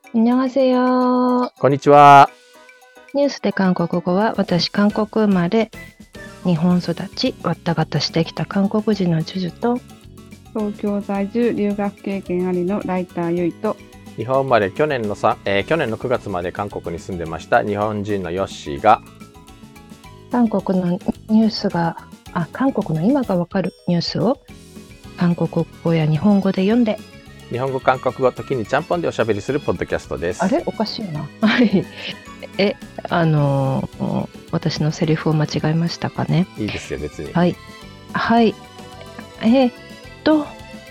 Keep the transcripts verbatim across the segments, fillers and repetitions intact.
안녕하세요。 こんにちは。 ニュースで韓国語は、私韓国生まれ、日本育ち、わったがたしてきた韓国人のジュジュと、 東京在住留学経験ありのライターゆいと、 日本生まれ去年のさ、えー去年のくがつまで韓国に住んでました日本人のヨッシーが、 韓国のニュースが、あ、韓国の今がわかるニュースを韓国語や日本語で読んで、 日本語韓国語時にちゃんぽんでおしゃべりするポッドキャストです。 あれおかしいな。はい。え、あのー私のセリフを間違えましたかね。 いいですよ別に。 はい。はい。えーっと、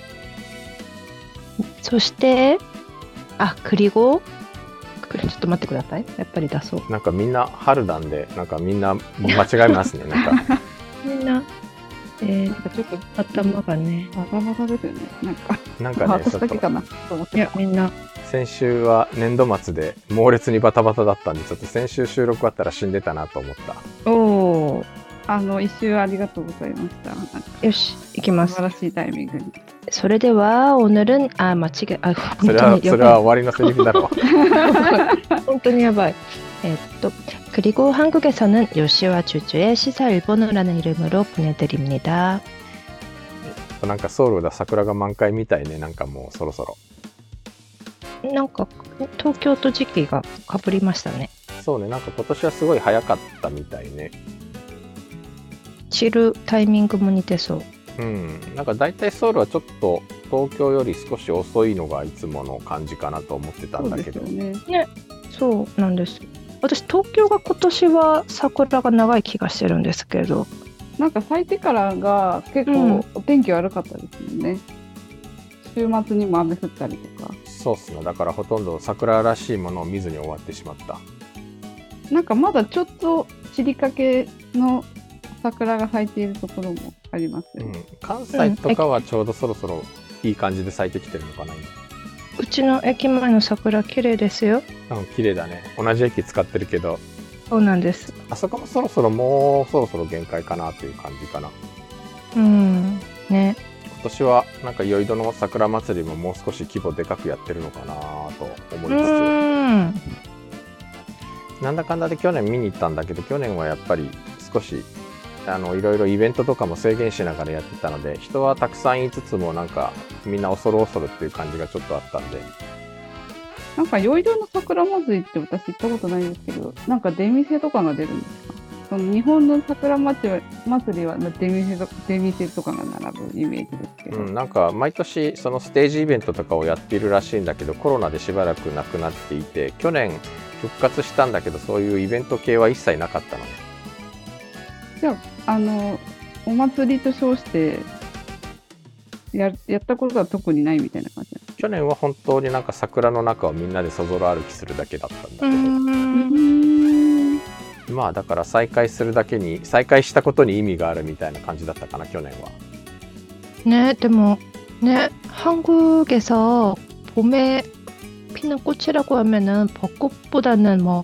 そして、あ、クリゴちょっと待ってください。やっぱり出そう。 なんかみんな春なんで、なんかみんな間違えますね。なんかみんな、えー、 なんかちょっと頭がね、 バタバタですよね。なんか、 なんかね私ちょっとだけかなと思っいや、 てた。 みんな、 先週は年度末で猛烈にバタバタだったんで、ちょっと先週収録あったら死んでたなと思った。 おー、 あの、一周ありがとうございました。なんかよし、いきます。 素晴らしいタイミングに。 それでは、오늘은、あ、間違え、あ、 それは本当にやそれはばい。 終わりのセリフだろう。 本当にやばい。えっと、그리고 한국에서는 요시와 주주의 시사 일본어라는 이름으로 보내드립니다. なんかソウルだ桜が満開みたいね。なんかもうそろそろ。 なんか、東京と時期がかぶりましたね。 そうね、なんか今年はすごい早かったみたいね。 散るタイミングも似てそう。 うん、なんか大体ソウルはちょっと東京より少し遅いのがいつもの感じかなと思ってたんだけど、 そうですよね。 そうなんです。私、東京が今年は桜が長い気がしてるんですけど、 なんか咲いてからが結うん構お天気悪かったですもんね。週末にも雨降ったりとか。 そうっすね、だからほとんど桜らしいものを見ずに終わってしまった。 なんかまだちょっと散りかけの桜が咲いているところもありますようんね。、 関西とかはちょうどそろそろいい感じで咲いてきてるのかなうちの駅前の桜綺麗ですよ。 今。うん、綺麗だね。同じ駅使ってるけど、 そうなんです。 あそこもそろそろもうそろそろ限界かなという感じかな。 うん。ね。 今年はなんか宵戸の桜祭りももう少し規模でかくやってるのかなと思ういつつ、 ん。 なんだかんだで去年見に行ったんだけど、去年はやっぱり少しあのいろいろイベントとかも制限しながらやってたので、人はたくさんいつつもなんかみんな恐る恐るっていう感じがちょっとあったんで、 なんか宵戸の桜祭りって私行ったことないんですけど、なんか出店とかが出るんですか？その日本の桜祭り祭りは出店と出店とかが並ぶイメージですけど、 うん、なんか毎年そのステージイベントとかをやっているらしいんだけど、コロナでしばらくなくなっていて、去年復活したんだけど、そういうイベント系は一切なかったのね。 じゃあ、あのお祭りと称してややったことは特にないみたいな感じなんですか？ 去年は本当になんか桜の中をみんなでそぞろ歩きするだけだったんだけど、 ん。 まあだから再開するだけに、再開したことに意味があるみたいな感じだったかな、去年は。 ね、でもね、한국에서 봄에 피는 꽃이라고 하면은 벚꽃보다는 뭐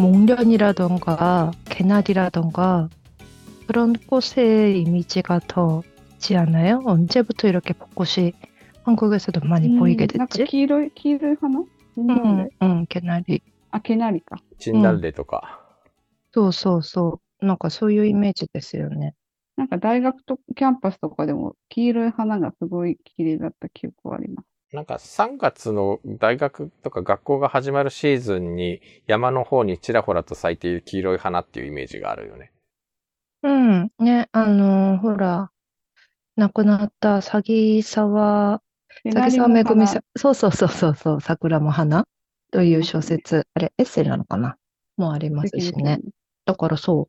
목련이라던가 개나리라던가 그런 꽃의 이미지가 더 있지 않아요? 언제부터 이렇게 벚꽃이 한국에서도 많이 보이게 なんか 됐지? 黄色い黄色い花？なんで 응, 응, 개나리. あ、毛なりか。 チンダルレとか、 そうそうそう。なんかそういうイメージですよね。 なんか大学とキャンパスとかでも黄色い花がすごい綺麗だった記憶はあります。 なんかさんがつの大学とか学校が始まるシーズンに山の方にちらほらと咲いている黄色い花っていうイメージがあるよね。 うん。ね、あのーほら、亡くなった詐欺沢、 毛詐欺沢なりも花めぐみさん、そうそうそうそうそう、桜も花という小説、あれ、エッセイなのかなもありますしね。だからそう、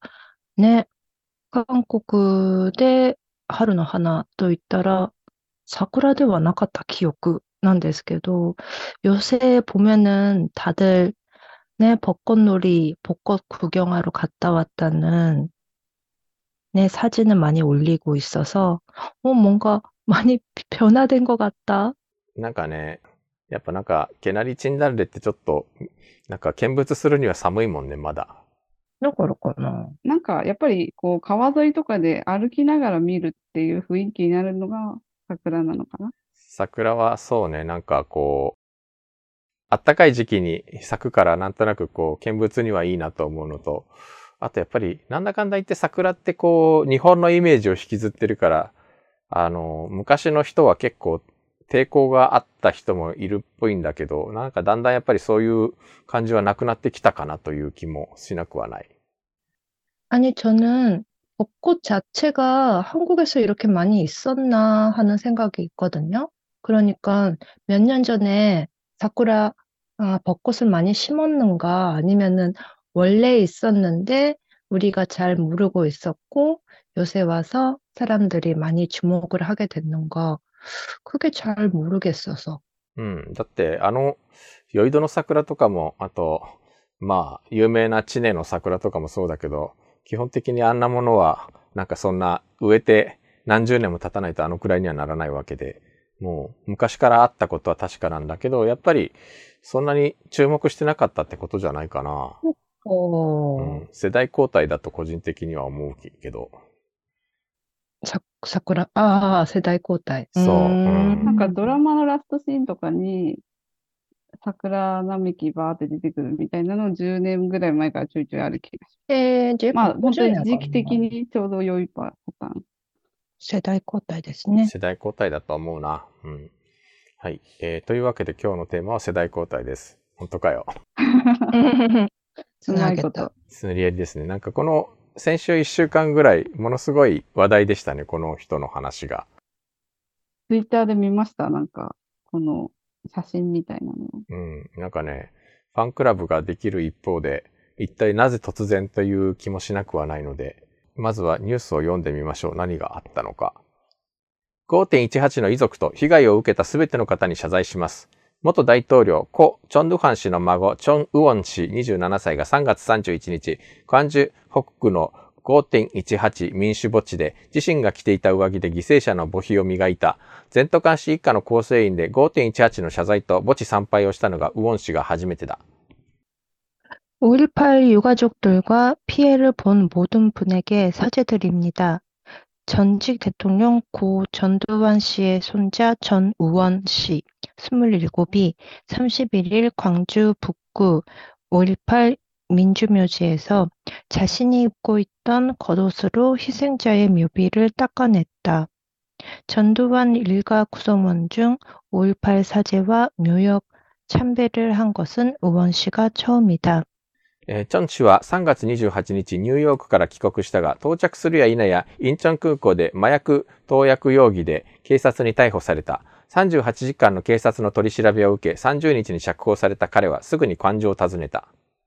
ね、韓国で春の花といったら、桜ではなかった記憶なんですけど、요새 보면은 다들 네, 벚꽃놀이, 벚꽃 구경하러 갔다 왔다는 네, 사진을 많이 올리고 있어서, 어, 뭔가 많이 변화된 것 같다. なんかね、やっぱなんか毛なりチンダルレってちょっとなんか見物するには寒いもんね、まだ。 だからかな。 なんかやっぱりこう川沿いとかで歩きながら見るっていう雰囲気になるのが桜なのかな。 桜はそうね、なんかこあったかい時期に咲くからなんとなくこう見物にはいいなと思うのと、あとやっぱりなんだかんだ言って桜ってこう日本のイメージを引きずってるから、あの、昔の人は結構抵抗があった人もいるっぽいんだけど、なんかだんだんやっぱりそういう感じはなくなってきたかなという気もしなくはない。 아니, 저는 벚꽃 자체가 한국에서 이렇게 많이 있었나 하는 생각이 있거든요. 그러니까 몇 년 전에 사쿠라, 아, 벚꽃을 많이 심었는가 아니면은 원래 있었는데 우리가 잘 모르고 있었고 요새 와서 사람들이 많이 주목을 하게 됐는가 그게 잘 모르겠어서. うん。だって、あの、酔い戸の桜とかも、あと、まあ、有名な知根の桜とかもそうだけど、基本的にあんなものは、なんかそんな、植えて何十年も経たないとあのくらいにはならないわけで、もう、昔からあったことは確かなんだけど、やっぱり、そんなに注目してなかったってことじゃないかな。う 어, ん。世代交代だと個人的には思うけど。 사, 사쿠라, 아, 세대交代. そう。うん。 なんかドラマのラストシーンとかに、桜並木バーって出てくるみたいなのをじゅうねんぐらい前からちょいちょいある気がします。 예, 이제 まあ、本当 50 に時期的年にちょうど良いパターン。 世代交代ですね。 世代交代だと思うな。うん。はい。えー、というわけで今日のテーマは世代交代です。本当かよ。 うまいこと。 つなり合いですね。なんかこの先週いっしゅうかんぐらいものすごい話題でしたね。この人の話が。 ツイッターで見ました。なんか、この写真みたいなの。 うん。なんかね、ファンクラブができる一方で、一体なぜ突然という気もしなくはないので、まずはニュースを読んでみましょう。何があったのか。ごてんいちはち の遺族と被害を受けたすべての方に謝罪します。元大統領、故・チョン・ドゥファン氏の孫、チョン・ウォン氏にじゅうななさいがさんがつさんじゅういちにち、クァンジュ北区の ごてんいちはち 民主墓地で自身が着ていた上着で犠牲者の墓碑を磨いた、全都監視一家の構成員で ごてんいちはち の謝罪と墓地参拝をしたのがウォン氏が初めてだ。 오일팔 유가족들과 피해를 본 모든 분에게 사죄드립니다. 전직 대통령 고 전두환 씨의 손자 전우원 씨, 스물일곱이 삼십일 일 광주 북구 오일팔 민주묘지에서 자신이 입고 있던 겉옷으로 희생자의 묘비를 닦아냈다. 전두환 일가 구성원 중 오일팔 사제와 묘역 참배를 한 것은 우원 씨가 처음이다. えー、チョン氏はさんがつにじゅうはちにちニューヨークから帰国したが、到着するや否やインチョン空港で麻薬投薬容疑で警察に逮捕された。さんじゅうはちじかんの警察の取り調べを受け、さんじゅうにちに釈放された彼はすぐに관주を訪ねた。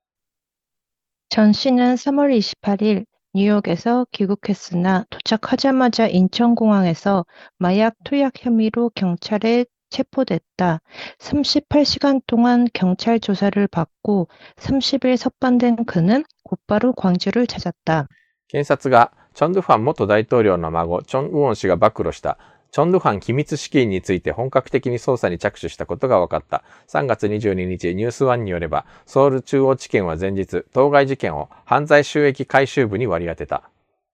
전 씨는 삼월 이십팔일 뉴욕에서 귀국했으나 도착하자마자 인천공항에서 마약 투약 혐의로 경찰에 체포됐다. 삼십팔 시간 동안 경찰 조사를 받고 삼십 일 석방된 그는 곧바로 광주를 찾았다. 検察がチョン・ドゥファン元大統領の孫、チョン・ウォン氏が暴露した、チョン・ドゥファン機密資金について本格的に捜査に着手したことが分かった。さんがつにじゅうににち、ニュースワンによれば、ソウル中央地検は前日、当該事件を犯罪収益回収部に割り当てた。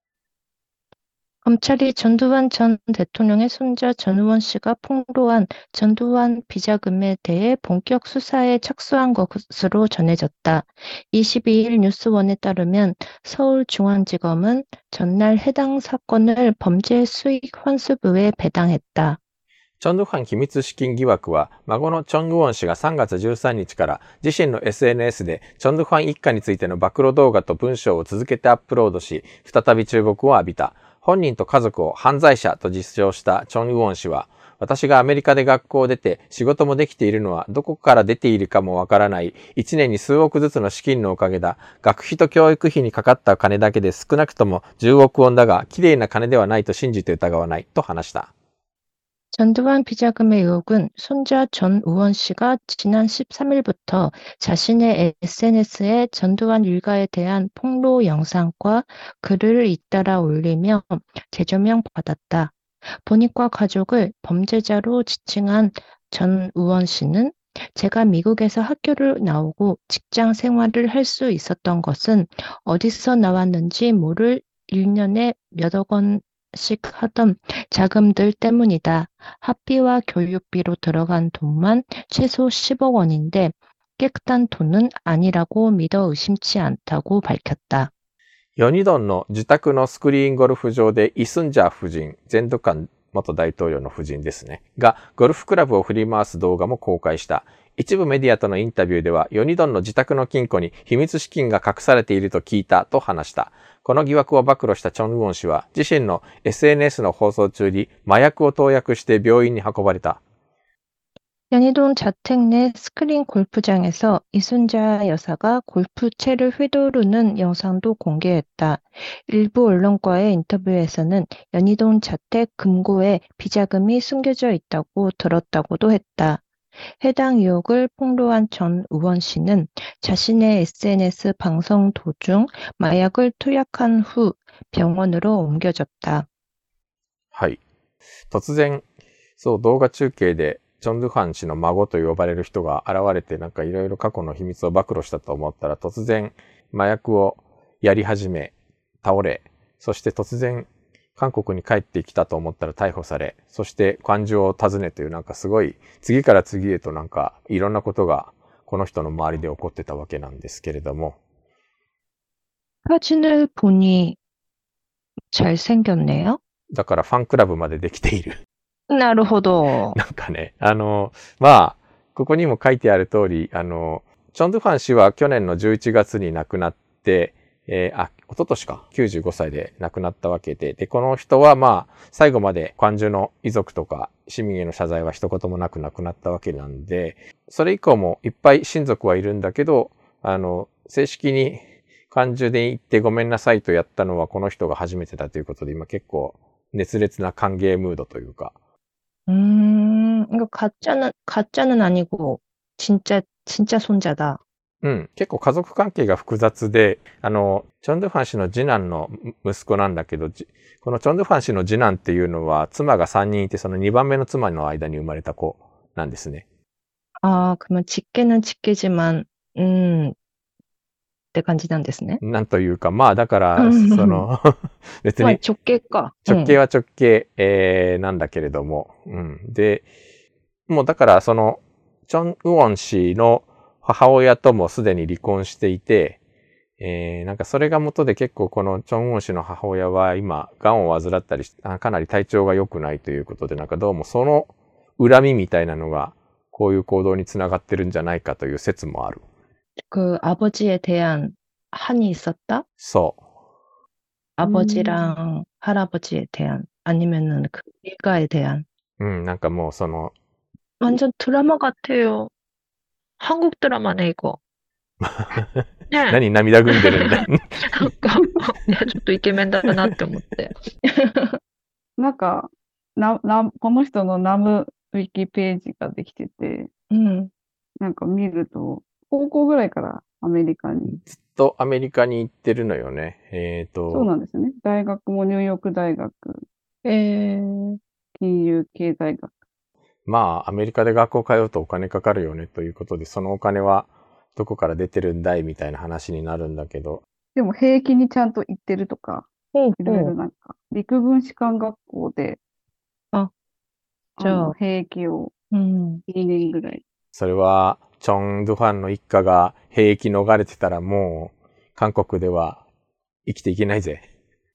검찰이 전두환 전 대통령의 손자 전우원 씨가 폭로한 전두환 비자금에 대해 본격 수사에 착수한 것으로 전해졌다. 이십이 일 뉴스원에 따르면 서울중앙지검은 전날 해당 사건을 범죄 수익 환수부에 배당했다. チョン・ドゥファン機密資金疑惑は、孫のチョン・グウォン氏がさんがつじゅうさんにちから自身の エスエヌエス でチョン・ドゥファン一家についての暴露動画と文章を続けてアップロードし、再び注目を浴びた。本人と家族を犯罪者と実証したチョン・グウォン氏は、私がアメリカで学校を出て仕事もできているのはどこから出ているかもわからないいちねんに数億ずつの資金のおかげだ。学費と教育費にかかった金だけで少なくともじゅうおくウォンだが、きれいな金ではないと信じて疑わないと話した。 전두환 비자금의 의혹은 손자 전우원 씨가 지난 십삼 일부터 자신의 에스엔에스에 전두환 일가에 대한 폭로 영상과 글을 잇따라 올리며 재조명받았다. 본인과 가족을 범죄자로 지칭한 전우원 씨는 제가 미국에서 학교를 나오고 직장 생활을 할 수 있었던 것은 어디서 나왔는지 모를 일 년에 몇억 원 씩 하던 자금들 때문이다. 학비와 교육비로 들어간 돈만 최소 십억 원인데 깨끗한 돈은 아니라고 믿어 의심치 않다고 밝혔다. ヨニドンの自宅のスクリーンゴルフ場でイスンジャー夫人、全土間元大統領の夫人ですね、がゴルフクラブを振り回す動画も公開した。一部メディアとのインタビューでは、ヨニドンの自宅の金庫に秘密資金が隠されていると聞いたと話した。この疑惑を暴露したチョン・ウォン氏は、自身の エスエヌエス の放送中に麻薬を投薬して病院に運ばれた。 연희동 자택 내 스크린 골프장에서 이순자 여사가 골프채를 휘두르는 영상도 공개했다. 일부 언론과의 인터뷰에서는 연희동 자택 금고에 비자금이 숨겨져 있다고 들었다고도 했다. 해당 의혹을 폭로한 전 의원 씨는 자신의 에스엔에스 방송 도중 마약을 투약한 후 병원으로 옮겨졌다. はい。突然、そう、動画中継でチョン・ドゥファン氏の孫と呼ばれる人が現れてなんかいろいろ過去の秘密を暴露したと思ったら突然麻薬をやり始め、倒れ、そして突然韓国に帰ってきたと思ったら逮捕され、そして官庁を訪ねというなんかすごい次から次へとなんかいろんなことがこの人の周りで起こってたわけなんですけれども。 사진을 보니 잘생겼네요. だからファンクラブまでできている。 なるほど。 なんかね、あの、まあ、ここにも書いてある通り、あの、チョン・ドゥファン氏は去年のじゅういちがつに亡くなって、えー、あ、一昨年か、きゅうじゅうごさいで亡くなったわけで、で、この人はまあ、最後まで官中の遺族とか市民への謝罪は一言もなく亡くなったわけなんで、それ以降もいっぱい親族はいるんだけど、あの、正式に官中で行ってごめんなさいとやったのはこの人が初めてだということで、今結構熱烈な歓迎ムードというか、 음, 이거 가짜는, 가짜는 아니고, 진짜, 진짜 손자다. うん。結構家族関係が複雑で、あの、チョン・ドゥファン氏の次男の息子なんだけど、このチョン・ドゥファン氏の次男っていうのは、妻がさんにんいて、そのにばんめの妻の間に生まれた子なんですね。 아, 그러면 직계는 직계지만, 음, って感じなんですね。 なんというか、まあだから、その、別に、 直系か。 直系は直系、えー、なんだけれども、うん。で、もうだからその、チョン・ウォン氏の母親ともすでに離婚していて、えー、なんかそれが元で結構このチョン・ウォン氏の母親は今、癌を患ったりし、かなり体調が良くないということで、なんかどうもその恨みみたいなのが、こういう行動につながってるんじゃないかという説もある。 그 아버지에 대한 한이 있었다? そう。 아버지랑 음. 할아버지에 대한 아니면은 그 일가에 대한. うん、なんかもうその 완전 드라마 같아요. 한국 드라마네 이거. 何涙ぐんでるんだ。 なんか、いや、ちょっとイケメンだなって思って。 なんか、な、な、この人のナムウィキページができてて、 うん。 なんか見ると、高校ぐらいからアメリカに。 ずっとアメリカに行ってるのよね。えっと。 そうなんですね。大学もニューヨーク大学。 えー、 金融経済学。 まあ、アメリカで学校通うとお金かかるよねということで、そのお金はどこから出てるんだいみたいな話になるんだけど。 でも兵役にちゃんと行ってるとか、いろいろなんか、陸軍士官学校で、 あ、じゃあ、 兵役をにねんぐらい。 それは、チョン・ドゥファンの一家が兵役逃れてたらもう、韓国では生きていけないぜ。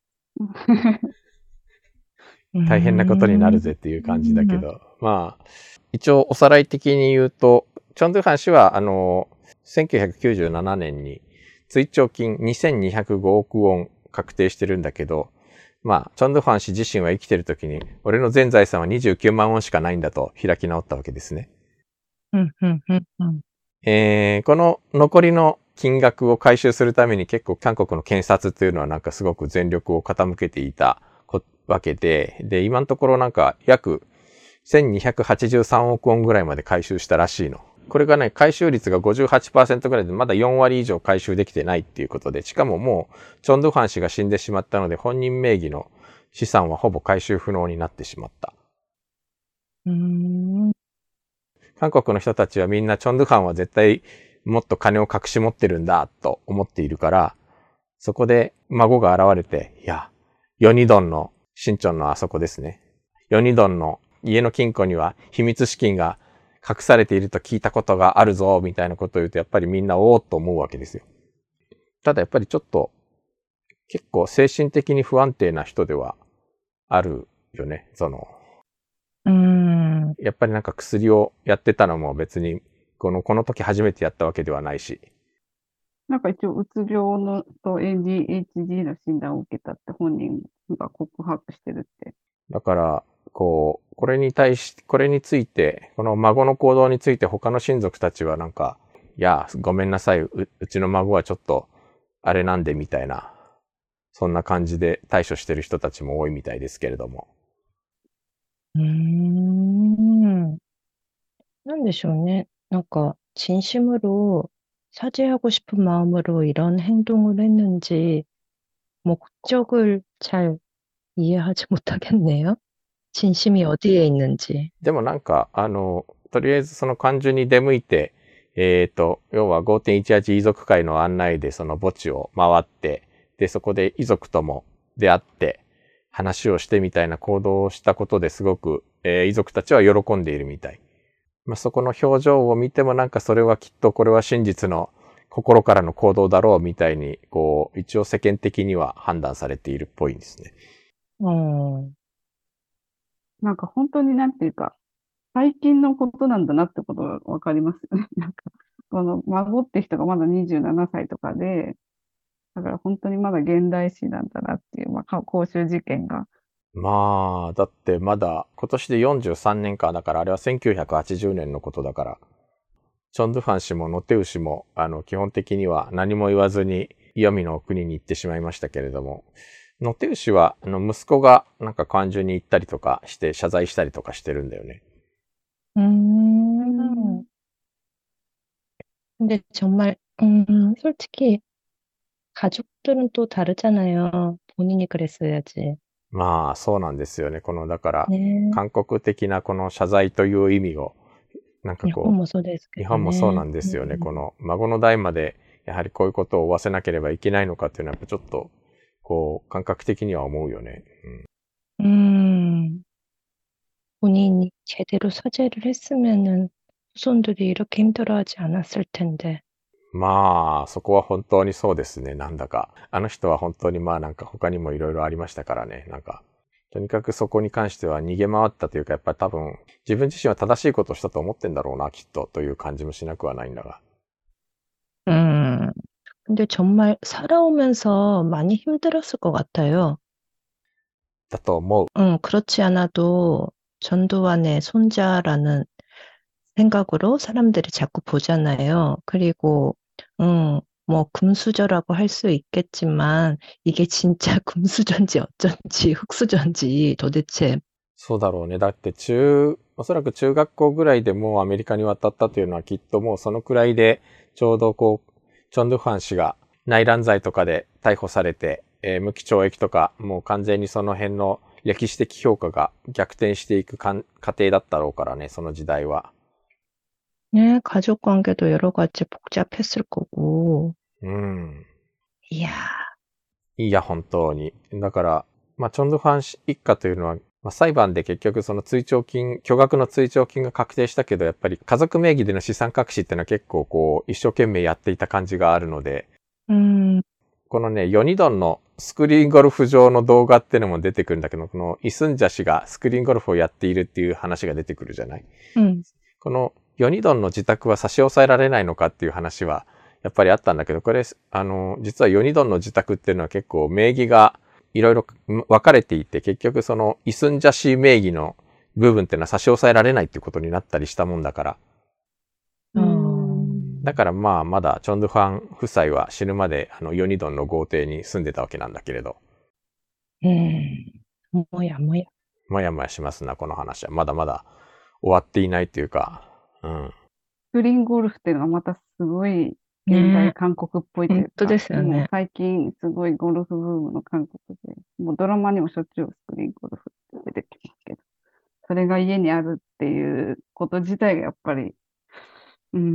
大変なことになるぜっていう感じだけど、まあ、一応おさらい的に言うと、チョン・ドゥファン氏は、あの、せんきゅうひゃくきゅうじゅうななねんに追徴金にせんにひゃくごおくウォン確定してるんだけど、まあ、チョン・ドゥファン氏自身は生きてる時に、俺の全財産はにじゅうきゅうまんウォンしかないんだと開き直ったわけですね。 うんうんうんうん、 えー、この残りの金額を回収するために結構韓国の検察というのはなんかすごく全力を傾けていたわけで、で、今のところなんか約せんにひゃくはちじゅうさんおくウォンぐらいまで回収したらしいの。これがね、回収率が ごじゅうはちパーセント ぐらいでまだよんわり以上回収できてないっていうことで、しかももうチョン・ドゥファン氏が死んでしまったので本人名義の資産はほぼ回収不能になってしまった。 うーん、 韓国の人たちはみんなチョン・ドゥファンは絶対もっと金を隠し持ってるんだと思っているから、そこで孫が現れて、いや、ヨニドンの、新チョンのあそこですね。ヨニドンの家の金庫には秘密資金が隠されていると聞いたことがあるぞ、みたいなことを言うと、やっぱりみんなおーっと思うわけですよ。ただやっぱりちょっと、結構精神的に不安定な人ではあるよね。その、 うーん。 やっぱりなんか薬をやってたのも別に、この、この時初めてやったわけではないし。 なんか一応、うつ病のと エーディーエイチディー の診断を受けたって本人が告白してるって。 だから、こう、これに対し、これについて、この孫の行動について他の親族たちはなんか、いや、ごめんなさい、う、うちの孫はちょっと、あれなんでみたいな、そんな感じで対処してる人たちも多いみたいですけれども。 うーん。なんでしょうね。なんか、진심으로 사죄하고 싶은 마음으로 이런 행동을 했는지, 목적을 잘 이해하지 못하겠네요. 진심이 어디에 있는지. でもなんか、あの、とりあえずその漢字に出向いて、えっと、要は ごてんいちはち 遺族会の案内でその墓地を回って、で、そこで遺族とも出会って、話をしてみたいな行動をしたことですごく、えー遺族たちは喜んでいるみたい。まあ、そこの表情を見てもなんかそれはきっとこれは真実の心からの行動だろうみたいに、こう、一応世間的には判断されているっぽいんですね。 어, なんか本当になんていうか、最近のことなんだなってことがわかりますよね。なんか、この孫って人がまだにじゅうななさいとかで、だから本当にまだ現代史なんだなっていう、まあ、か公衆事件が。 まあ、だってまだ今年でよんじゅうさんねんか、だからあれはせんきゅうひゃくはちじゅうねんのことだから、チョンドゥファン氏もノテウ氏も、あの、基本的には何も言わずに、黄泉の国に行ってしまいましたけれども、ノテウ氏は、あの、息子がなんか漢中に行ったりとかして、謝罪したりとかしてるんだよね。 음. 근데 정말, 음, 솔직히, 가족들은 또 다르잖아요. 본인이 그랬어야지. まあ、そうなんですよね。この、だから、 네. 韓国的なこの謝罪という意味を、なんかこう、 일본もそうですけ日どね。 本もそうなんですよね。この孫の代までやはりこういうことを負わせなければいけないのかっていうのはやっぱちょっとこう感覚的には思うよね。 うん。 음, 본인이 제대로 사죄를 했으면은 후손들이 이렇게 힘들어하지 않았을 텐데. うん、まあそこは本当にそうですね。なんだかあの人は本当にまあなんか他にもいろいろありましたからね。なんかとにかくそこに関しては逃げ回ったというかやっぱり多分自分自身は正しいことをしたと思ってんだろうなきっとという感じもしなくはないんだが。 음. 근데 정말 살아오면서 많이 힘들었을 것 같아요. だと思う。 음, 그렇지 않아도 전두환의 손자라는 생각으로 사람들이 자꾸 보잖아요. 그리고, 음, 뭐, 금수저라고 할 수 있겠지만, 이게 진짜 금수저인지 어쩐지, 흙수저인지 도대체. そうだろうね。だって中、おそらく中学校ぐらいでもうアメリカに渡ったというのはきっともうそのくらいでちょうどこう、チョンドゥファン氏が内乱罪とかで逮捕されて、えー無期懲役とかもう完全にその辺の歴史的評価が逆転していくかん過程だったろうからね、その時代は。 네, 가족 관계도 여러 가지 복잡했을 거고. うん。 이야, いや、本当に。だから、まあ、チョンドゥファン氏一家というのは、まあ、裁判で結局その追徴金、巨額の追徴金が確定したけど、やっぱり家族名義での資産隠しっていうのは結構こう、一生懸命やっていた感じがあるので、 음, このね、ヨニドンのスクリーンゴルフ場の動画っていうのも出てくるんだけど、このイスンジャ氏がスクリーンゴルフをやっているっていう話が出てくるじゃない。 음, このヨニドンの自宅は差し押さえられないのかっていう話はやっぱりあったんだけど、これ、あの、実はヨニドンの自宅っていうのは結構名義がいろいろ分かれていて、結局そのイスンジャ氏名義の部分っていうのは差し押さえられないっていうことになったりしたもんだから、 う 어, ん。 だからまあまだチョンドゥファン夫妻は死ぬまであのヨニドンの豪邸に住んでたわけなんだけれど、 음, 뭐야, 뭐야. もやもやしますな、この話は。まだまだ終わっていないっていうか、うん。 スクリーンゴルフっていうのがまたすごい現代韓国っぽいというか、 本当ですよね。 もう最近すごいゴルフブームの韓国で、もうドラマにもしょっちゅうスクリーンゴルフって出てきますけど、それが家にあるっていうこと自体がやっぱり、うん、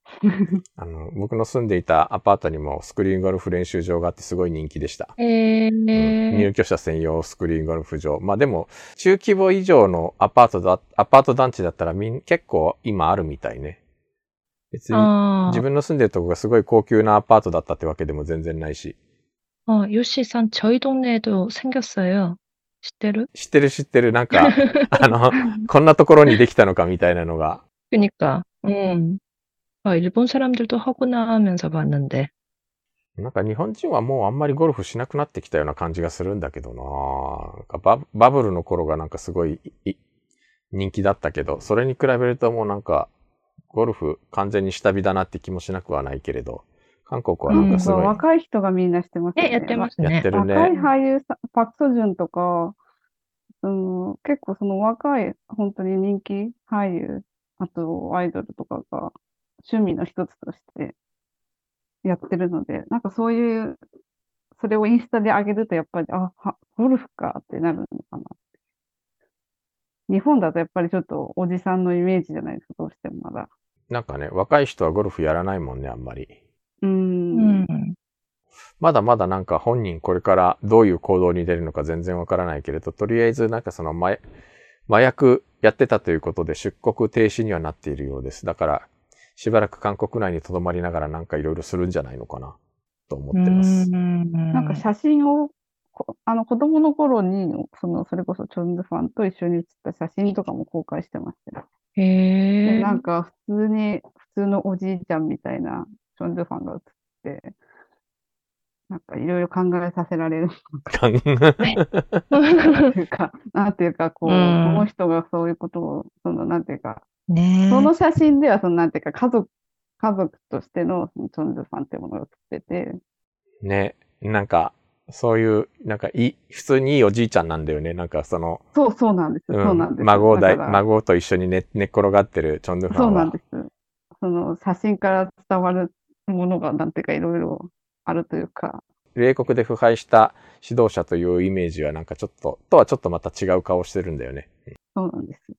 あの、僕の住んでいたアパートにもスクリーンゴルフ練習場があってすごい人気でした。 えうん、 ー、 入居者専用スクリーンゴルフ場。まあでも、中規模以上のアパートだ、アパート団地だったらみん、結構今あるみたいね。別に自あ分の住んでるとこがすごい高級なアパートだったってわけでも全然ないし。 어, 요시산 저희 동네에도 생겼어요. 知ってる? 知ってる知ってる。なんか、あの、こんなところにできたのかみたいなのが。 그니까, 음. 아, 일본 사람들도 하구나 하면서 봤는데. なんか日本人はもうあんまりゴルフしなくなってきたような感じがするんだけどな。なんかバ、バブルの頃がなんかすごいい人気だったけど、それに比べるともうなんか、ゴルフ完全に下火だなって気もしなくはないけれど、韓国はなんかすごい、 うん、若い人がみんなしてますよね、やっね。 てますね。 やってる若いね。 俳優さん、パク・ソジュンとか、うん、結構その若い、本当に人気俳優、あとアイドルとかが趣味の一つとしてやってるので、なんかそういう、それをインスタで上げるとやっぱり、あ、はゴルフかってなるのかな。日本だとやっぱりちょっとおじさんのイメージじゃないですか、どうしてもまだ。 なんかね、若い人はゴルフやらないもんね、あんまり。 うー。 うんん。 まだまだなんか本人これからどういう行動に出るのか全然わからないけれど、とりあえずなんかその麻麻薬やってたということで出国停止にはなっているようです。だからしばらく韓国内に留まりながらなんかいろいろするんじゃないのかなと思ってます。 なんか写真を、こあの子供の頃に、その、それこそチョンズファンと一緒に写った写真とかも公開してましたよ。で、 へえ。 なんか普通に、普通のおじいちゃんみたいなチョンズファンが写って、なんかいろいろ考えさせられる感っていうか、なんていうか、こう、 うこんの人がそういうことを、その、なんていうか、 ねその写真では、その、なんていうか、家族、家族としてのそのチョンズファンっていうものが写ってて、 ね、なんかそういうなんかいい普通にいいおじいちゃんなんだよね。なんかその、 そう、そうなんです。 うそうなんです。 孫だいだから、 孫と一緒に寝寝っ転がってるチョンドゥファンはそうなんです。その写真から伝わるものが、なんていうか、いろいろあるというか、 米国で腐敗した指導者というイメージはなんかちょっととはちょっとまた違う顔してるんだよね。 そうなんです。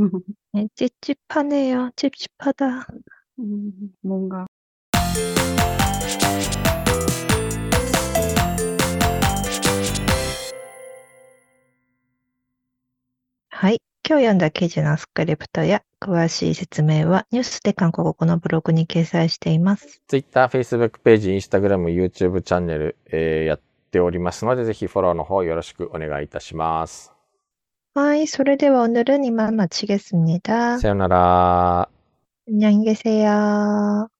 네, 찝찝하네요. 찝찝하다. うん、뭔가 はい。今日読んだ記事のスクリプトや詳しい説明はニュースで韓国語のブログに掲載しています。 Twitter、Facebook ページ、Instagram、YouTube チャンネル、えーやっておりますので、ぜひフォローの方よろしくお願いいたします。 はい。それでは오늘은이만마치겠습니다。 さよなら。 안녕히 계세요.